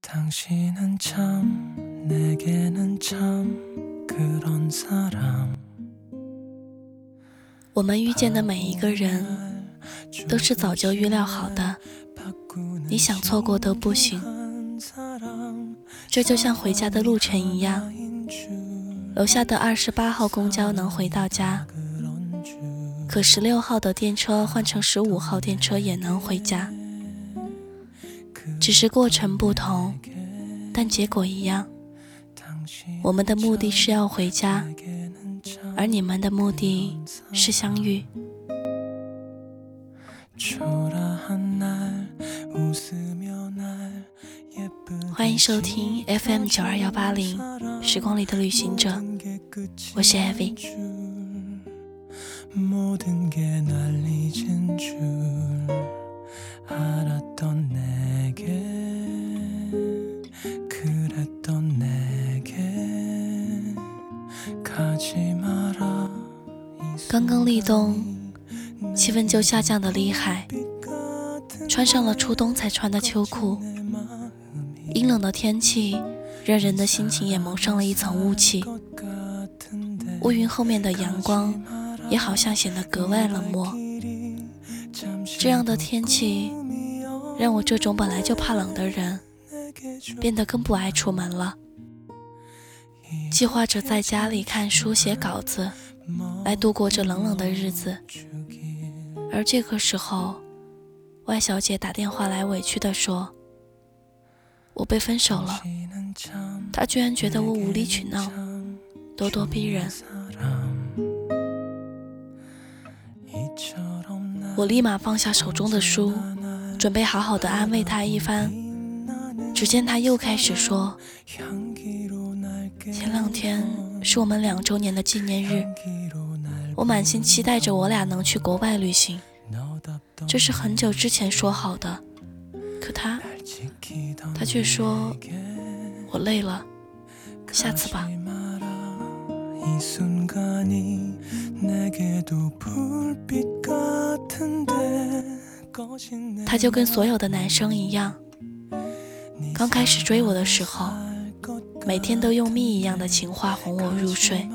당신은 참 내게는 참 그런 사람。 我们遇见的每一个人都是早就预料好的，你想错过都不行。这就像回家的路程一样，楼下的28号公交能回到家，可16号的电车换成15号电车也能回家，只是过程不同，但结果一样。我们的目的是要回家，而你们的目的是相遇。欢迎收听 FM92180 时光里的旅行者，我是 Evie。刚刚立冬，气温就下降得厉害，穿上了初冬才穿的秋裤。阴冷的天气让人的心情也蒙上了一层雾气，乌云后面的阳光也好像显得格外冷漠。这样的天气让我这种本来就怕冷的人变得更不爱出门了，计划着在家里看书写稿子来度过这冷冷的日子。而这个时候，外小姐打电话来委屈地说，我被分手了，她居然觉得我无理取闹，咄咄逼人。我立马放下手中的书，准备好好的安慰她一番，只见她又开始说，前2天是我们2周年的纪念日，我满心期待着我俩能去国外旅行，这是很久之前说好的，可他却说我累了，下次吧。他就跟所有的男生一样，刚开始追我的时候，每天都用蜜一样的情话哄我入睡，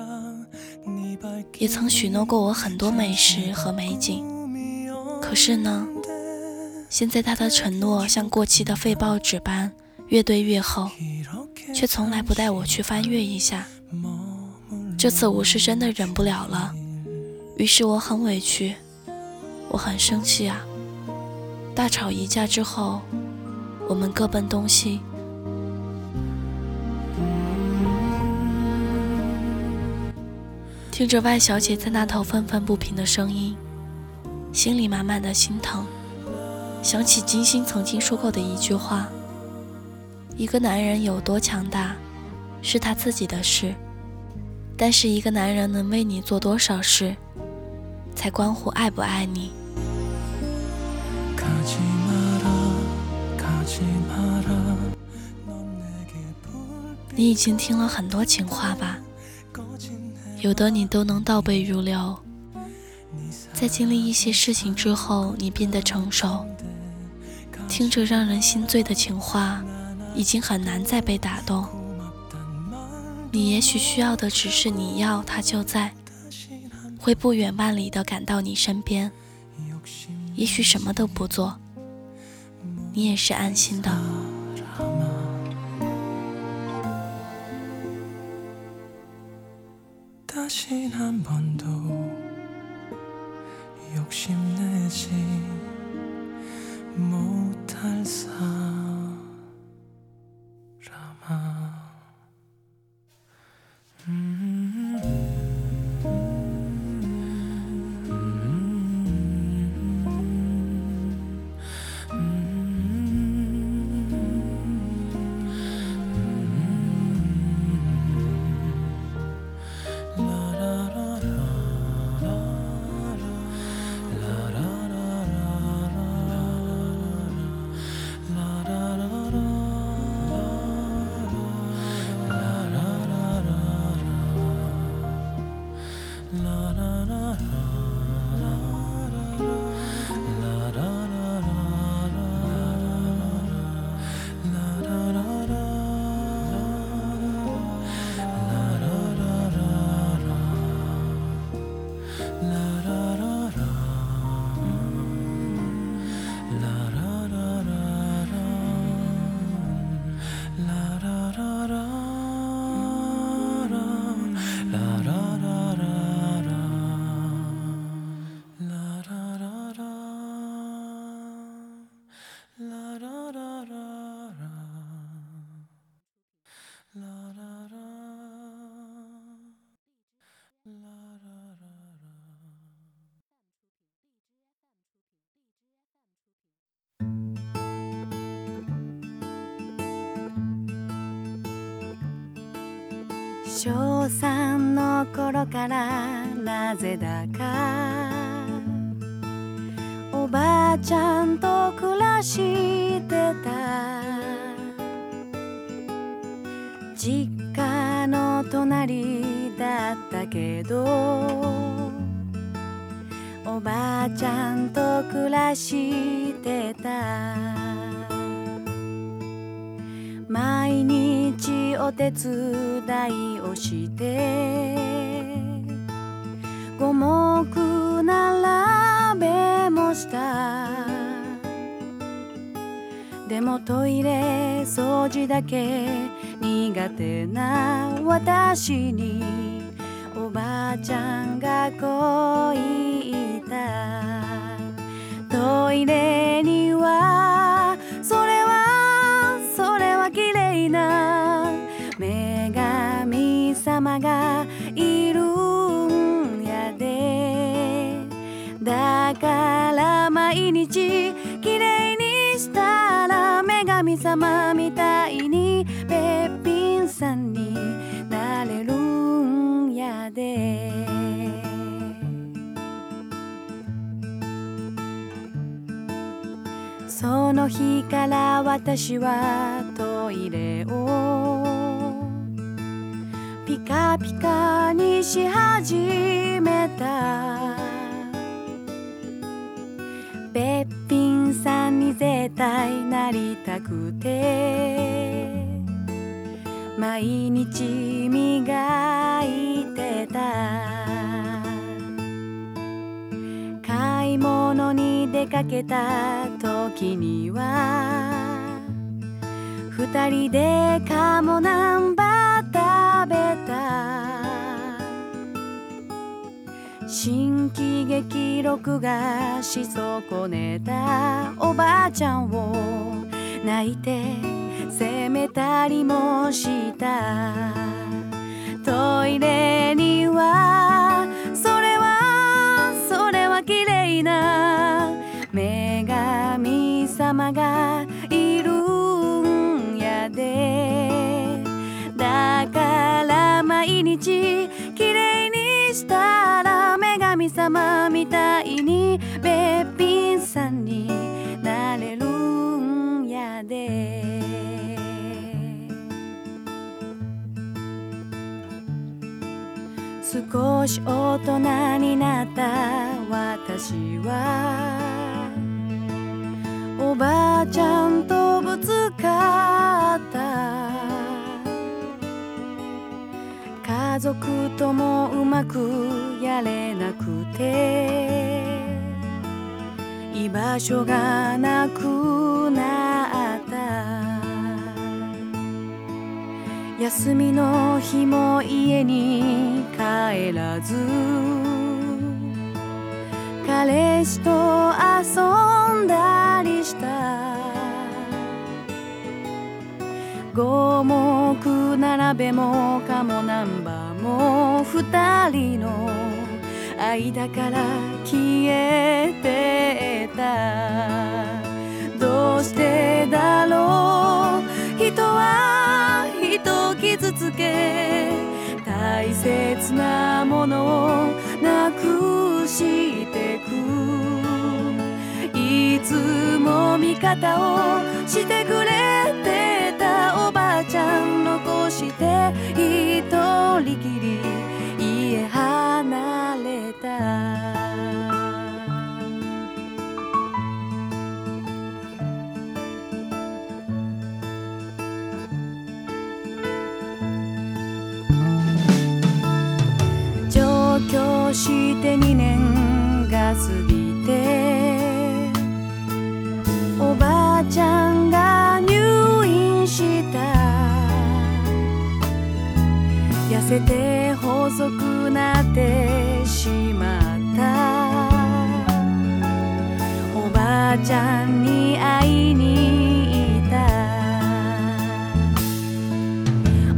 也曾许诺过我很多美食和美景。可是呢，现在他的承诺像过期的废报纸般越堆越厚，却从来不带我去翻阅一下。这次我是真的忍不了了，于是我很委屈，我很生气啊。大吵一架之后，我们各奔东西。听着外小姐在那头愤愤不平的声音，心里满满的心疼，想起金星曾经说过的一句话，一个男人有多强大是他自己的事，但是一个男人能为你做多少事才关乎爱不爱你。你已经听了很多情话吧，有的你都能倒背如流，在经历一些事情之后你变得成熟，听着让人心醉的情话已经很难再被打动。你也许需要的只是你要他就在，会不远万里地赶到你身边，也许什么都不做，你也是安心的。 小三の頃からなぜだかおばあちゃんと暮らしてた。実家の隣だったけどおばあちゃんと暮らしてた。毎日お手伝いをして五目並べもした。でもトイレ掃除だけ苦手な私におばあちゃんがこう言った。トイレにはそれは綺麗な女神様がいるんやで。だから毎日綺麗にしたら女神様みたいにべっぴんさんになれるんやで。その日から私はトイレをピカピカにし始めた。べっぴんさんに絶対なりたくて毎日磨いてた。買い物に出かけた時には二人で鴨南蛮食べた。新喜劇録画し損ねたおばあちゃんを泣いて責めたりもした。トイレにはそれは綺麗な女神様がいるんやで。だから毎日綺麗にしたら女神様みたいにべっぴんさんになれるんやで。少し大人になった私はおばあちゃんとぶつかった。家族ともうまくやれなくて居場所がなくなった。休みの日も家に帰らず彼氏と遊んだりした。五目並べも鴨南蛮も二人の間から消えてた。どうしてだろう人は人を傷つけ大切なものをなくしてく。いつも味方をしてくれてたおばあちゃん残して一人きり家離れた。上京して2年が過ぎておばあちゃんが入院した。痩せて細くなってしまった。おばあちゃんに会いに行った。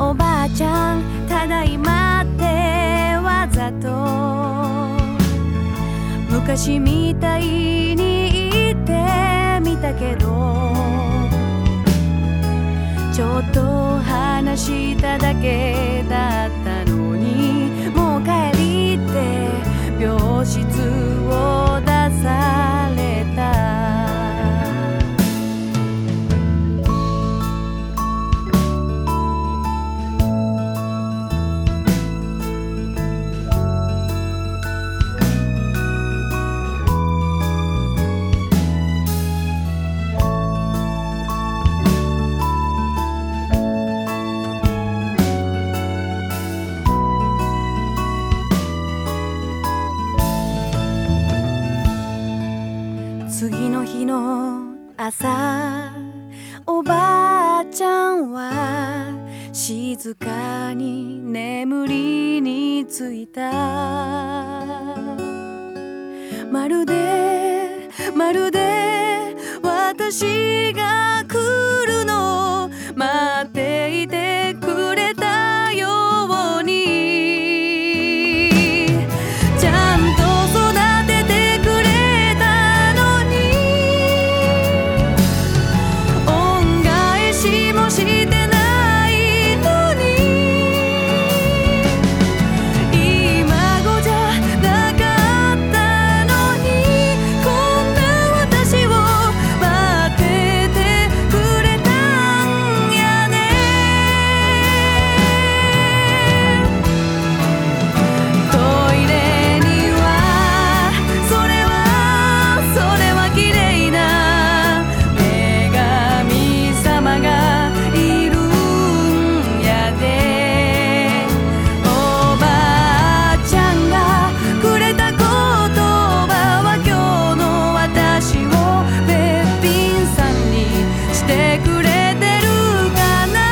おばあちゃんただいまってわざと昔みたいに言ってみたけどちょっと話しただけだった朝おばあちゃんは静かに眠りについた。まるで私が来るのを待っていてくれたように、ちゃんと育ててくれたのに、恩返しもしてないのに、今ごじゃなかったのに、こんな私を待っててくれたんやね。トイレにはそれは綺麗な女神様がいるんやで。おばあちゃんがくれた言葉は今日の私をべっぴんさんにしてくれてるかな。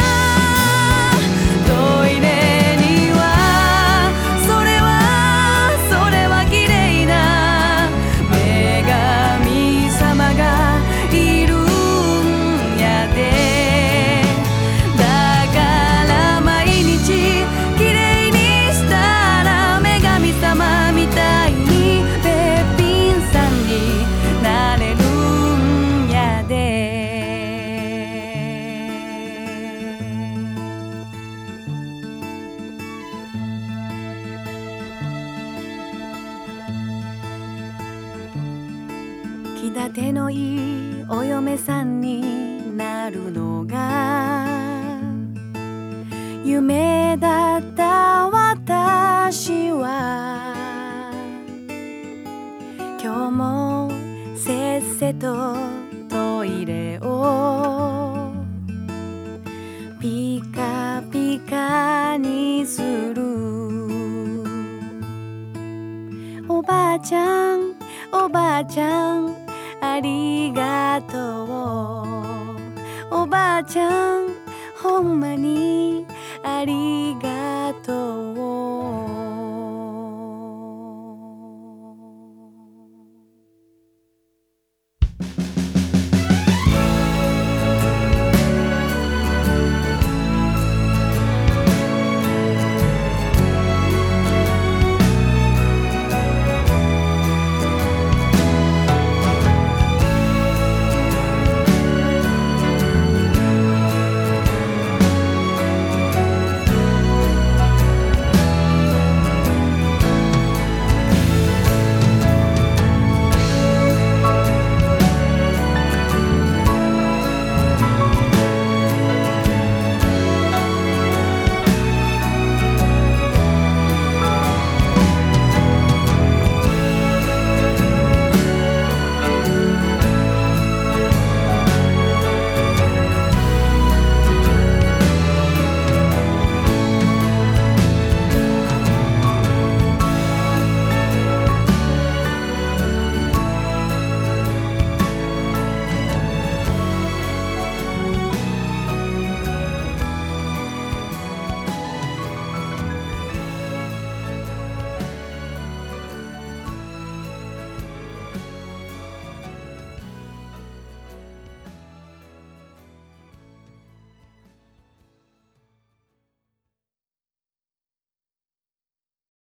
トイレにはそれは綺麗な女神様がいるんやで。だから毎日綺麗にしたら女神様みたいにべっぴんさんになれるんやで。気立てのいいお嫁さんになるのが夢だった私は、今日もせっせとトイレをピカピカにする。おばあちゃんありがとう。おばあちゃんほんまにありがとう。